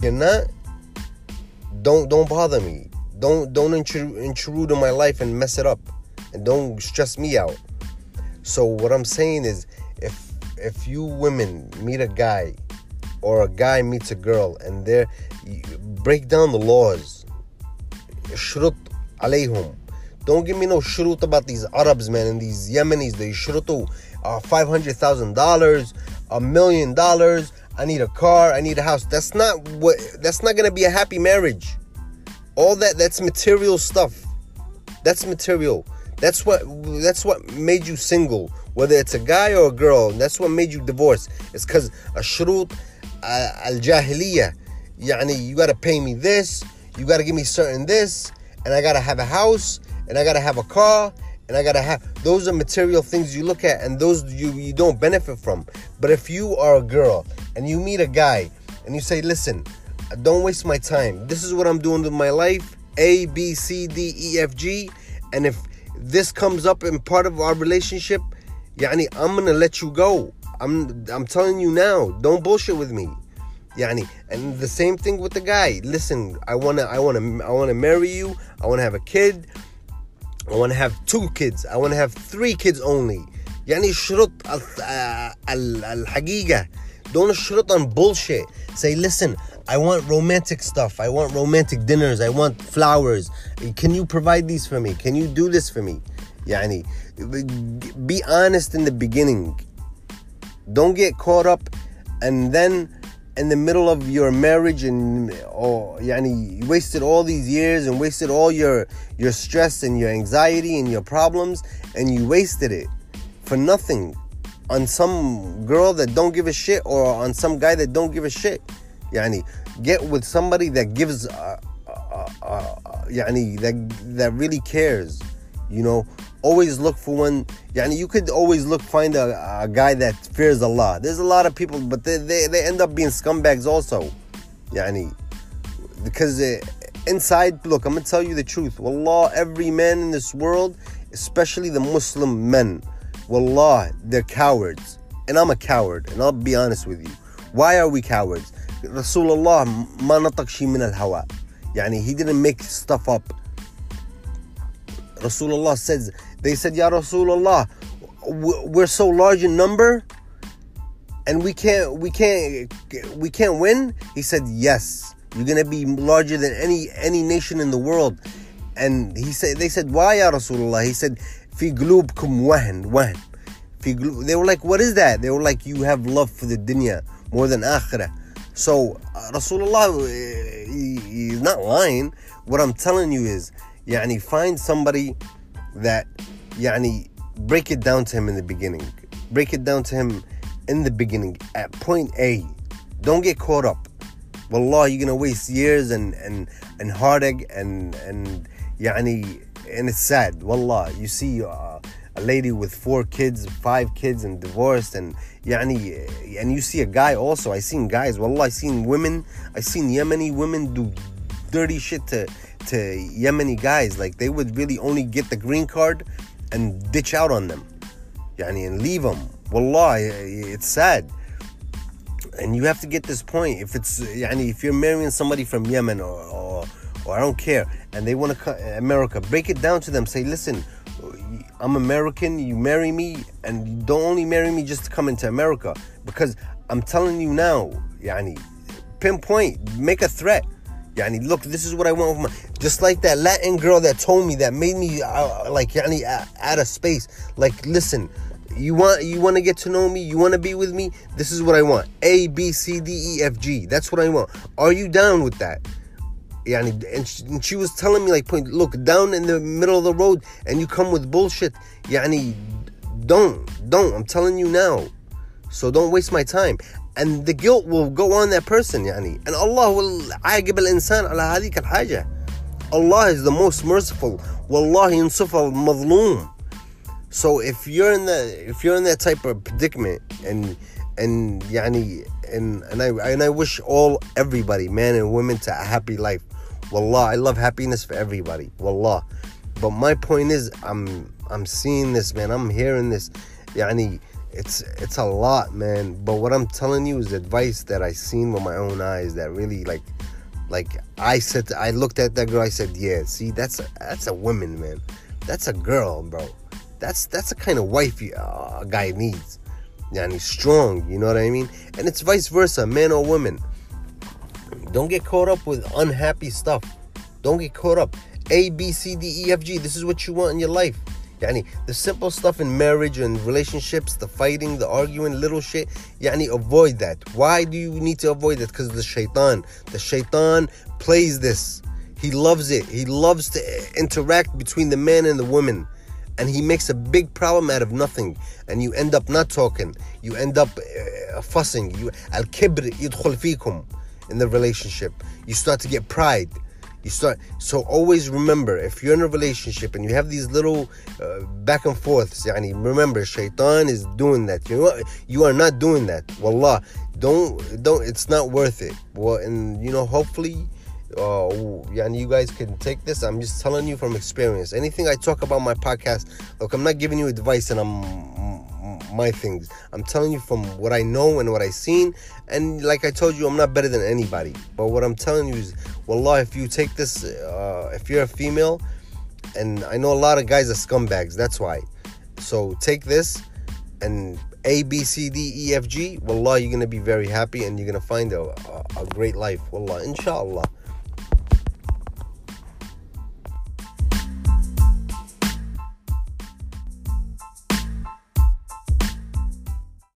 you're not, don't bother me. Don't intrude in my life and mess it up, and don't stress me out. So what I'm saying is, if you women meet a guy, or a guy meets a girl, and break down the laws. Shrut alayhum. Don't give me no shrut about these Arabs, man, and these Yemenis. They shrutu $500,000, $1 million. I need a car. I need a house. That's not gonna be a happy marriage. All that's material stuff. That's material. That's what made you single, whether it's a guy or a girl. That's what made you divorce. It's because a shrut al-jahiliyyah. Yani, you gotta pay me this, you gotta give me certain this, and I gotta have a house, and I gotta have a car, and I gotta have. Those are material things you look at, and those you don't benefit from. But if you are a girl and you meet a guy and you say, listen, don't waste my time. This is what I'm doing with my life. A, B, C, D, E, F, G. And if this comes up in part of our relationship, yani, I'm gonna let you go. I'm telling you now. Don't bullshit with me. Yani, and the same thing with the guy. Listen, I wanna marry you. I wanna have a kid. I wanna have 2 kids. I wanna have 3 kids only. Yani, shrut al-haqiqa. Don't shrut on bullshit. Say, listen, I want romantic stuff. I want romantic dinners. I want flowers. Can you provide these for me? Can you do this for me? Yani, be honest in the beginning. Don't get caught up, and then in the middle of your marriage, and yani, you wasted all these years and wasted all your stress and your anxiety and your problems, and you wasted it for nothing on some girl that don't give a shit, or on some guy that don't give a shit. Yani, get with somebody that gives yani, that really cares. You know, always look for one. Yani, you could always find a guy that fears Allah. There's a lot of people, but they end up being scumbags also. Yani, because inside, look, I'm gonna tell you the truth. Wallah, every man in this world, especially the Muslim men, wallah, they're cowards. And I'm a coward, and I'll be honest with you. Why are we cowards? Rasulullah ma nataq shi min al-hawa. Yani, he didn't make stuff up. Rasulullah says, they said, Ya Rasulullah, we're so large in number, and we can't win. He said, yes, you're gonna be larger than any nation in the world. And they said, why, Ya Rasulullah? He said, fi qulubkum wahn. They were like, what is that? They were like, you have love for the dunya more than akhirah. So Rasulullah, he's not lying. What I'm telling you is, yani, find somebody that, yani, break it down to him in the beginning. Break it down to him in the beginning at point A. Don't get caught up. Wallah, you're gonna waste years and heartache and yani, and it's sad. Wallah, you see a lady with 4 kids, 5 kids, and divorced, and yani, and you see a guy also. I seen guys. Wallah, I seen women. I seen Yemeni women do dirty shit to Yemeni guys. Like, they would really only get the green card and ditch out on them, yani, and leave them. Wallah, it's sad. And you have to get this point. If it's, yani, if you're marrying somebody from Yemen or I don't care, and they want to come America, break it down to them. Say, listen, I'm American. You marry me, and you don't only marry me just to come into America, because I'm telling you now, yani, pinpoint, make a threat. Yani, look, this is what I want with my... Just like that Latin girl that told me, that made me like, yani, out of space. Like, listen, you want to get to know me, you want to be with me, this is what I want. A, B, C, D, E, F, G. That's what I want. Are you down with that? Yani, and she was telling me, like, look, down in the middle of the road, and you come with bullshit. Yani, don't. I'm telling you now. So don't waste my time. And the guilt will go on that person, yani. And Allah will aaqib al-insan ala hadhik al-haja. Allah is the most merciful. Wallahi yansuf al-madhloom. So if you're in that type of predicament, and yani, and I wish everybody, man and women, to a happy life. Wallah, I love happiness for everybody. Wallah. But my point is, I'm seeing this, man. I'm hearing this. Yani, it's a lot, man. But what I'm telling you is advice that I seen with my own eyes that really, like, Like I looked at that girl, I said, yeah, see, that's a woman, man. That's a girl, bro. That's the kind of wife a guy needs. Yani strong, you know what I mean? And it's vice versa, man or woman. Don't get caught up with unhappy stuff. Don't get caught up. A, B, C, D, E, F, G. This is what you want in your life. Yani, the simple stuff in marriage and relationships, the fighting, the arguing, little shit, yani, avoid that. Why do you need to avoid that? Because the shaitan. The shaitan plays this. He loves it. He loves to interact between the man and the woman. And he makes a big problem out of nothing. And you end up not talking. You end up fussing. Al-kibr yidkhul fikum in the relationship. You start to get pride. So always remember, if you're in a relationship and you have these little back and forths, yani, remember, shaitan is doing that. You are not doing that. Wallah, don't. It's not worth it. Well, and hopefully, yani, you guys can take this. I'm just telling you from experience. Anything I talk about my podcast, look, I'm not giving you advice and my things. I'm telling you from what I know and what I've seen. And like I told you, I'm not better than anybody. But what I'm telling you is, wallah, if you take this, if you're a female, and I know a lot of guys are scumbags, that's why. So take this and A, B, C, D, E, F, G. Wallah, you're going to be very happy and you're going to find a great life. Wallah, inshallah.